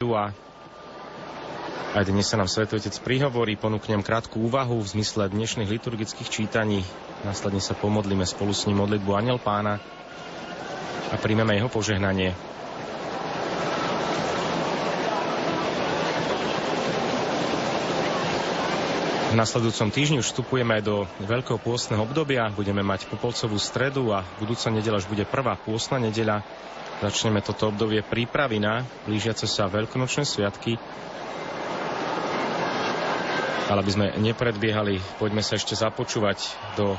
stredu a aj dnes sa nám Svätý Otec prihovorí, ponúknem krátku úvahu v zmysle dnešných liturgických čítaní. Následne sa pomodlíme spolu s ním modlitbu Anjel Pána a príjmeme jeho požehnanie. V nasledujúcom týždni už vstupujeme do veľkého pôstneho obdobia. Budeme mať popolcovú stredu a budúca nedeľa už bude prvá pôstna nedeľa. Začneme toto obdobie prípravy na blížiace sa veľkonočné sviatky. Ale aby sme nepredbiehali, poďme sa ešte započúvať do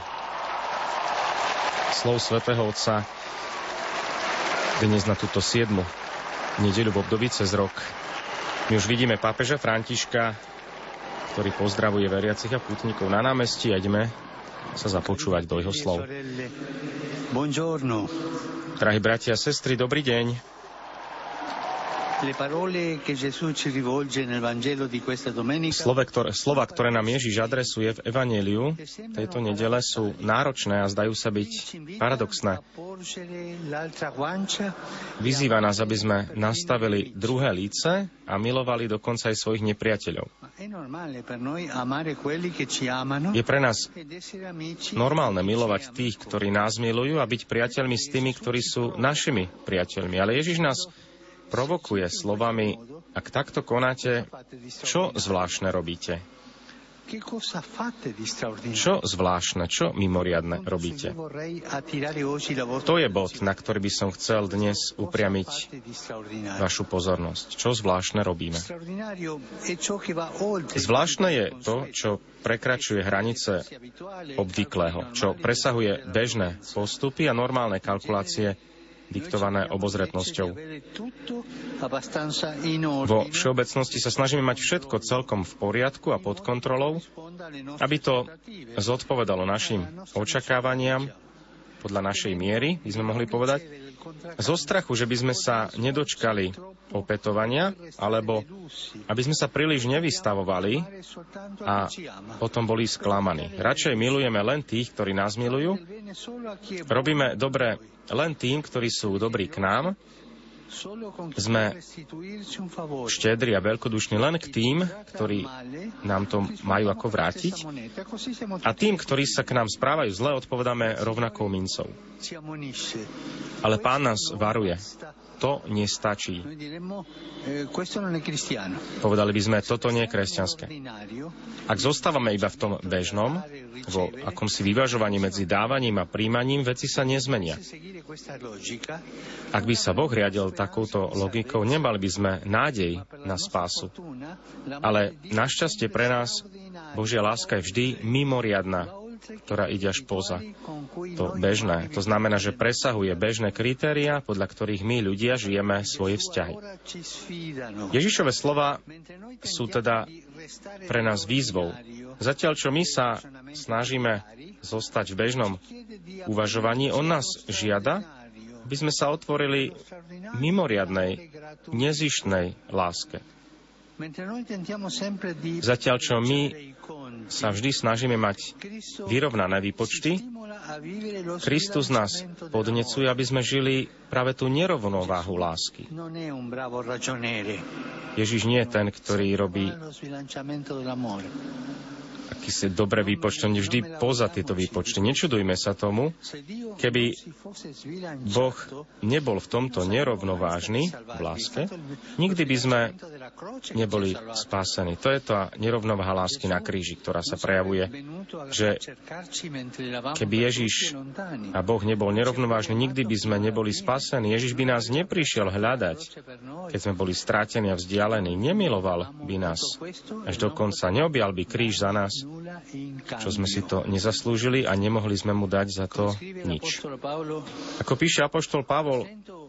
slov Svätého Otca dnes na túto 7. nedeľu v období cez rok. My už vidíme pápeža Františka, ktorý pozdravuje veriacich a pútnikov na námestí a ideme sa započúvať do jeho slov. Drahí bratia a sestry, dobrý deň. Slova, ktoré nám Ježiš adresuje v evanjeliu tejto nedele, sú náročné a zdajú sa byť paradoxné. Vyzýva nás, aby sme nastavili druhé líce a milovali dokonca aj svojich nepriateľov. Je pre nás normálne milovať tých, ktorí nás milujú, a byť priateľmi s tými, ktorí sú našimi priateľmi. Ale Ježiš nás provokuje slovami: ak takto konáte, čo zvláštne robíte? Čo zvláštne, čo mimoriadne robíte? To je bod, na ktorý by som chcel dnes upriamiť vašu pozornosť. Čo zvláštne robíme? Zvláštne je to, čo prekračuje hranice obvyklého, čo presahuje bežné postupy a normálne kalkulácie diktované obozretnosťou. Vo všeobecnosti sa snažíme mať všetko celkom v poriadku a pod kontrolou, aby to zodpovedalo našim očakávaniam podľa našej miery, by sme mohli povedať, zo strachu, že by sme sa nedočkali opätovania, alebo aby sme sa príliš nevystavovali a potom boli sklamaní. Radšej milujeme len tých, ktorí nás milujú. Robíme dobre len tým, ktorí sú dobrí k nám. Sme štedri a veľkodušní len k tým, ktorí nám to majú ako vrátiť. A tým, ktorí sa k nám správajú zle, odpovedáme rovnakou mincov. Ale Pán nás varuje. To nestačí. Povedali by sme, toto nie je kresťanské. Ak zostávame iba v tom bežnom, vo akomsi vyvažovaní medzi dávaním a príjmaním, veci sa nezmenia. Ak by sa Boh riadil takouto logikou, nemali by sme nádej na spásu. Ale našťastie pre nás Božia láska je vždy mimoriadna, ktorá ide až poza to bežné. To znamená, že presahuje bežné kritériá, podľa ktorých my ľudia žijeme svoje vzťahy. Ježišove slova sú teda pre nás výzvou. Zatiaľ, čo my sa snažíme zostať v bežnom uvažovaní, on nás žiada, aby sme sa otvorili mimoriadnej, nezištnej láske. Zatiaľ, čo my sa vždy snažíme mať vyrovnané výpočty, Kristus nás podnecuje, aby sme žili práve tú nerovnováhu lásky. Ježiš nie je ten, ktorý robí akýsi dobré výpočty, on je vždy poza tieto výpočty. Nečudujme sa tomu, keby Boh nebol v tomto nerovnovážny v láske, nikdy by sme neboli spásení. To je tá nerovnováha lásky na kríži, ktorá sa prejavuje, že keby Ježiš a Boh nebol nerovnovážny, nikdy by sme neboli spásení. Ježiš by nás neprišiel hľadať, keď sme boli strátení a vzdialení. Nemiloval by nás až do konca. Neobjal by kríž za nás, čo sme si to nezaslúžili a nemohli sme mu dať za to nič. Ako píše apoštol Pavol,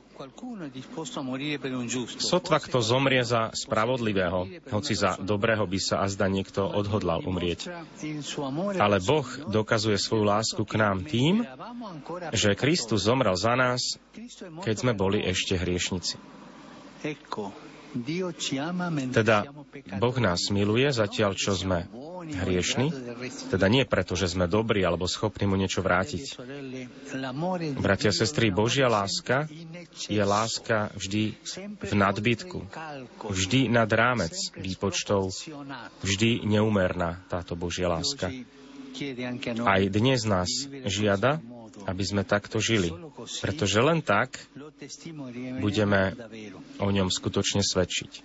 sotva kto zomrie za spravodlivého, hoci za dobrého by sa azda niekto odhodlal umrieť. Ale Boh dokazuje svoju lásku k nám tým, že Kristus zomrel za nás, keď sme boli ešte hriešnici. Teda Boh nás miluje, zatiaľ čo sme hriešni, teda nie preto, že sme dobrí alebo schopní mu niečo vrátiť. Bratia a sestry, Božia láska je láska vždy v nadbytku, vždy nad rámec výpočtov, vždy neúmerná táto Božia láska. Aj dnes nás žiada, aby sme takto žili, pretože len tak budeme o ňom skutočne svedčiť.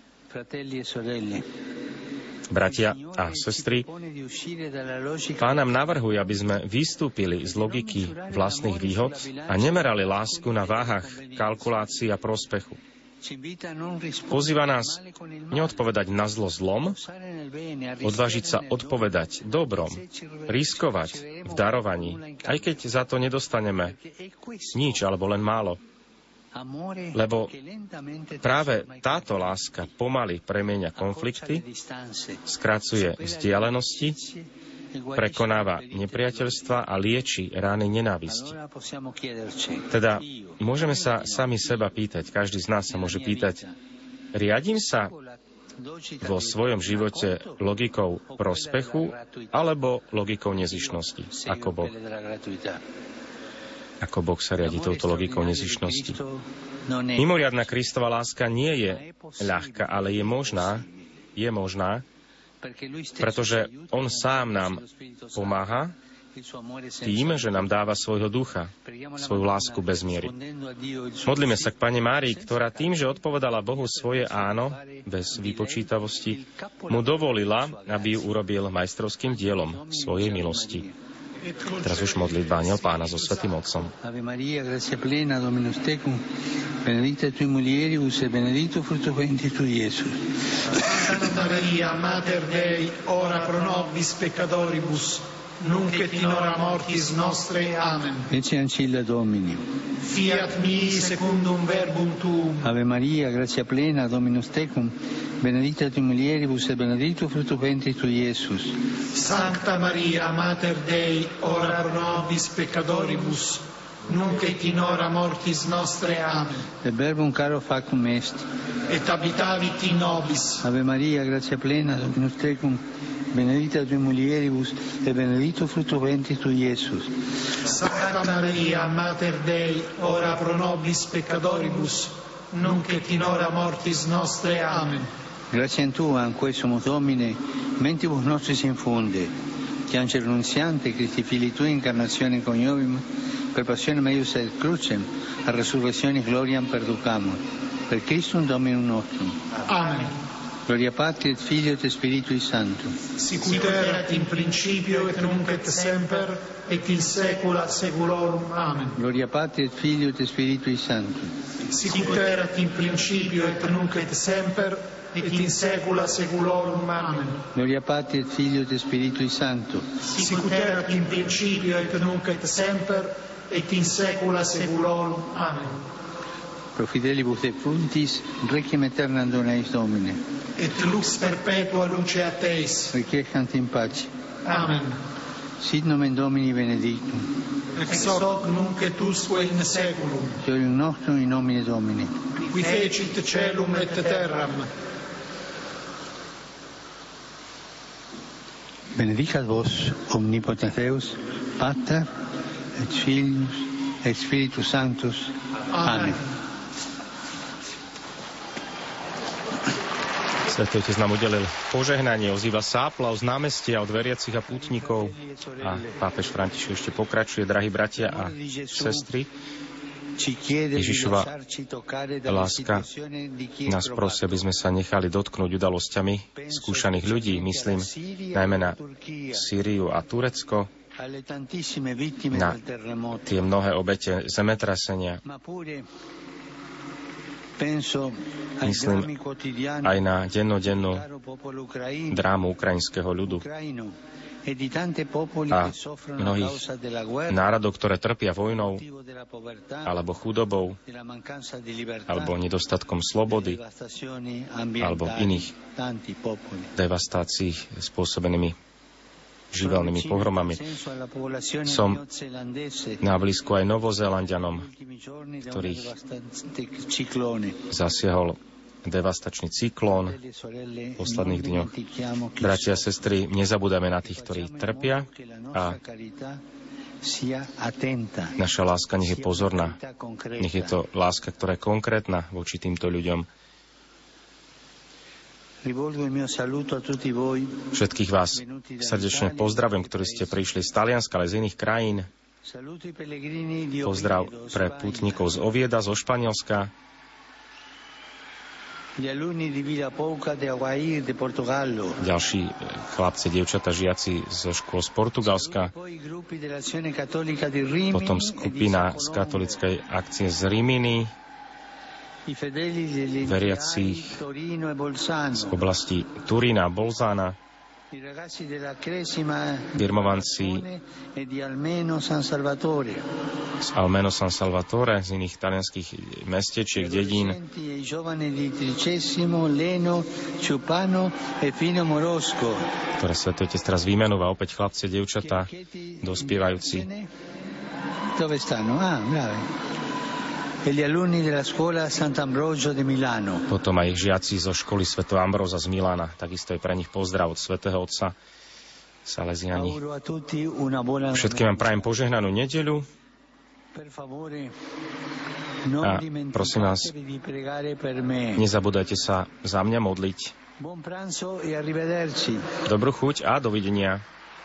Bratia a sestry, Pán nám navrhuje, aby sme vystúpili z logiky vlastných výhod a nemerali lásku na váhach kalkulácií a prospechu. Pozýva nás neodpovedať na zlo zlom, odvážiť sa odpovedať dobrom, riskovať v darovaní, aj keď za to nedostaneme nič alebo len málo. Lebo práve táto láska pomaly premieňa konflikty, skracuje vzdialenosti, prekonáva nepriateľstva a lieči rány nenávisti. Teda môžeme sa sami seba pýtať, každý z nás sa môže pýtať, riadím sa vo svojom živote logikou prospechu alebo logikou nezištnosti, ako Boh? Ako Boh sa riadi touto logikou nezištnosti. Mimoriadna Kristova láska nie je ľahká, ale je možná, pretože On sám nám pomáha tým, že nám dáva svojho ducha, svoju lásku bez miery. Modlíme sa k Panne Márii, ktorá tým, že odpovedala Bohu svoje áno, bez vypočítavosti, mu dovolila, aby ju urobil majstrovským dielom svojej milosti. Teraz už modlitba Anjel Pána so Svätým Otcom. Ave Maria, gratia plena, Dominus tecum, benedicta tui mulieribus e benedictus fructus ventris tui, Iesus. Santa Maria, Mater Dei, ora pro nobis peccatoribus, nunc et in hora mortis nostre. Amen. Ecce ancilla Domini. Fiat mihi secundum verbum tuum. Ave Maria, gratia plena, Dominus tecum, benedicta tui mulieribus e benedictus fructus ventris tui, Iesus. Sancta Maria, Mater Dei, ora pro nobis peccatoribus, nunc et in hora mortis nostre. Amen. Et verbum caro factum est. Et habitavit in nobis. Ave Maria, gratia plena, Dominus tecum, benedicta tui mulieribus e benedictus fructus ventris tui, Iesus. Sancta Maria, Mater Dei, ora pro nobis peccatoribus, nunc et in hora mortis nostre. Amen. Grazie a Tua, in cui sumus Domine, mentibus nostris infunde, che angelo nunziante, Christi Fili Tui, incarnazione coniovim, per passione meius et crucem, a resurrezione gloriam perducamur. Per Christum Dominum nostrum. Amen. Gloria Patri et Filio et Spiritui Sancto. Sicut erat in principio et nunc et semper et in saecula saeculorum. Amen. Gloria Patri et Filio et Spiritui Sancto. Sicut erat in principio et nunc et semper et in saecula saeculorum. Amen. Gloria Patri et Filio et Spiritui Sancto. Sicut erat in principio et nunc et semper et in saecula saeculorum. Amen. Pro fidelibus defuntis, requiem aeternam dona eis Domine. Et lux perpetua luce a Teis. Requiescant in pace. Amen. Sit nomen Domini benedictum. Ex hoc nunc et usque in saeculum. Deum nostrum in nomine Domini. Qui fecit caelum et terram. Benedicat vos, omnipotens Deus, Pater, et Filius, et Spiritus Sanctus. Amen. Svätý Otec nám udelil požehnanie, ozýva sa aplauz z námestia od veriacich a pútnikov a pápež František ešte pokračuje, drahí bratia a sestry. Ježišova láska nás prosí, aby sme sa nechali dotknúť udalosťami skúšaných ľudí, myslím najmä na Sýriu a Turecko, na tie mnohé obete zemetrasenia. Myslím aj na dennodennú drámu ukrajinského ľudu a mnohých národov, ktoré trpia vojnou alebo chudobou alebo nedostatkom slobody alebo iných devastácií spôsobenými živelnými pohromami. Som na blízku aj Novozélanďanom, ktorých zasiahol devastačný cyklón v posledných dňoch. Bratia a sestry, nezabúdame na tých, ktorí trpia a naša láska nech je pozorná. Nech je to láska, ktorá je konkrétna voči týmto ľuďom. Všetkých vás srdečne pozdravujem, ktorí ste prišli z Talianska, ale z iných krajín. Pozdrav pre pútnikov z Ovieda, zo Španielska. Ďalší chlapci, dievčatá, žiaci zo škôl z Portugalska. Potom skupina z katolíckej akcie z Rimini, veriacich z oblasti Turína a Bolzana, birmovanci z Almeno San Salvatore, z iných talianských mestečiek, dedín, ktoré Svätý Otec teraz vymenúva, opäť chlapci a dievčatá, dospievajúci. Dove stanno? Potom aj žiaci zo školy svätého Ambróza z Milána. Takisto je pre nich pozdrav od svätého otca Salesiani. Všetkým vám prajem požehnanú nedeľu. A prosím vás, nezabúdajte sa za mňa modliť. Dobrú chuť a dovidenia.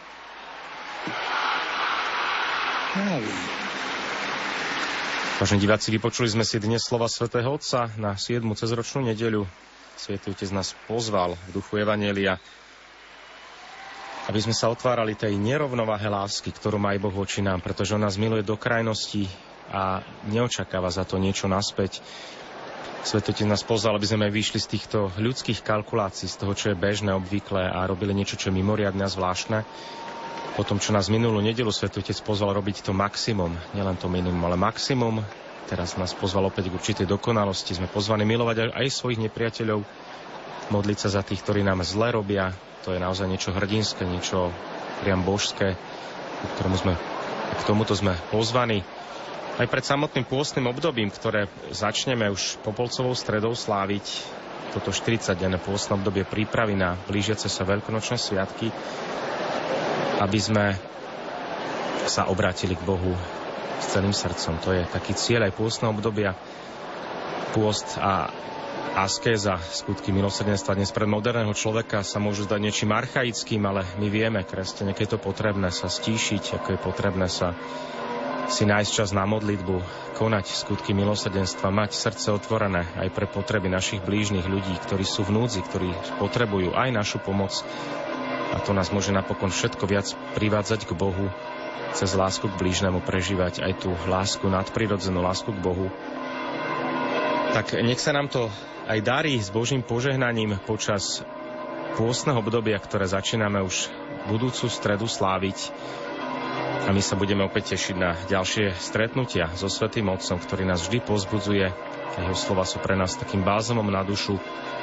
Vážení diváci, vypočuli sme si dnes slova svätého Otca na 7. cezročnú nedeľu. Svätý Otec nás pozval v duchu Evanjelia, aby sme sa otvárali tej nerovnováhe lásky, ktorú má aj Boh voči nám, pretože on nás miluje do krajnosti a neočakáva za to niečo naspäť. Svätý Otec nás pozval, aby sme aj vyšli z týchto ľudských kalkulácií, z toho, čo je bežné, obvyklé a robili niečo, čo je mimoriadne a zvláštne. Po tom, čo nás minulú nedeľu Svätý Otec pozval robiť to maximum, nielen to minimum, ale maximum. Teraz nás pozval opäť k určitej dokonalosti. Sme pozvaní milovať aj svojich nepriateľov, modliť sa za tých, ktorí nám zle robia. To je naozaj niečo hrdinské, niečo priam božské, k tomuto sme pozvaní. Aj pred samotným pôstnym obdobím, ktoré začneme už Popolcovou stredou sláviť, toto 40-denné pôstne obdobie prípravy na blížiace sa veľkonočné sviatky, aby sme sa obrátili k Bohu s celým srdcom. To je taký cieľ aj pôstneho obdobia. Pôst a askéza, skutky milosrdenstva dnes pre moderného človeka sa môžu zdať niečím archaickým, ale my vieme, kresťania, keď je to potrebné sa stíšiť, ako je potrebné sa si nájsť čas na modlitbu, konať skutky milosrdenstva, mať srdce otvorené aj pre potreby našich blížnych ľudí, ktorí sú v núdzi, ktorí potrebujú aj našu pomoc. A to nás môže napokon všetko viac privádzať k Bohu, cez lásku k blížnemu prežívať aj tú lásku nadprirodzenú, lásku k Bohu. Tak nech sa nám to aj darí s Božím požehnaním počas pôstneho obdobia, ktoré začíname už budúcu stredu sláviť. A my sa budeme opäť tešiť na ďalšie stretnutia so Svätým Otcom, ktorý nás vždy povzbudzuje. Jeho slova sú pre nás takým bálzamom na dušu.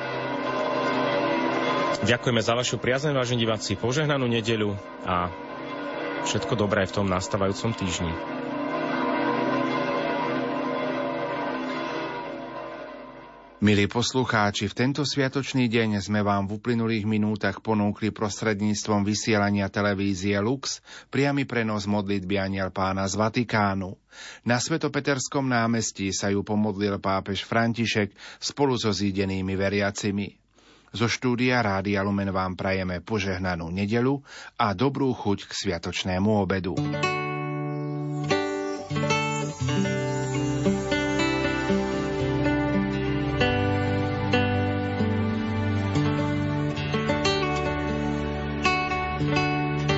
Ďakujeme za vašu priazeň, vážení diváci, požehnanú nedeľu a všetko dobré v tom nastávajúcom týždni. Milí poslucháči, v tento sviatočný deň sme vám v uplynulých minútach ponúkli prostredníctvom vysielania televízie Lux priamy prenos modlitby Anjel Pána z Vatikánu. Na Svetopeterskom námestí sa ju pomodlil pápež František spolu so zídenými veriacimi. Zo štúdia Rádia Lumen vám prajeme požehnanú nedeľu a dobrú chuť k sviatočnému obedu.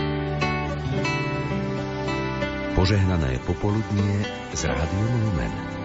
Požehnané popoludnie s Rádiom Lumen.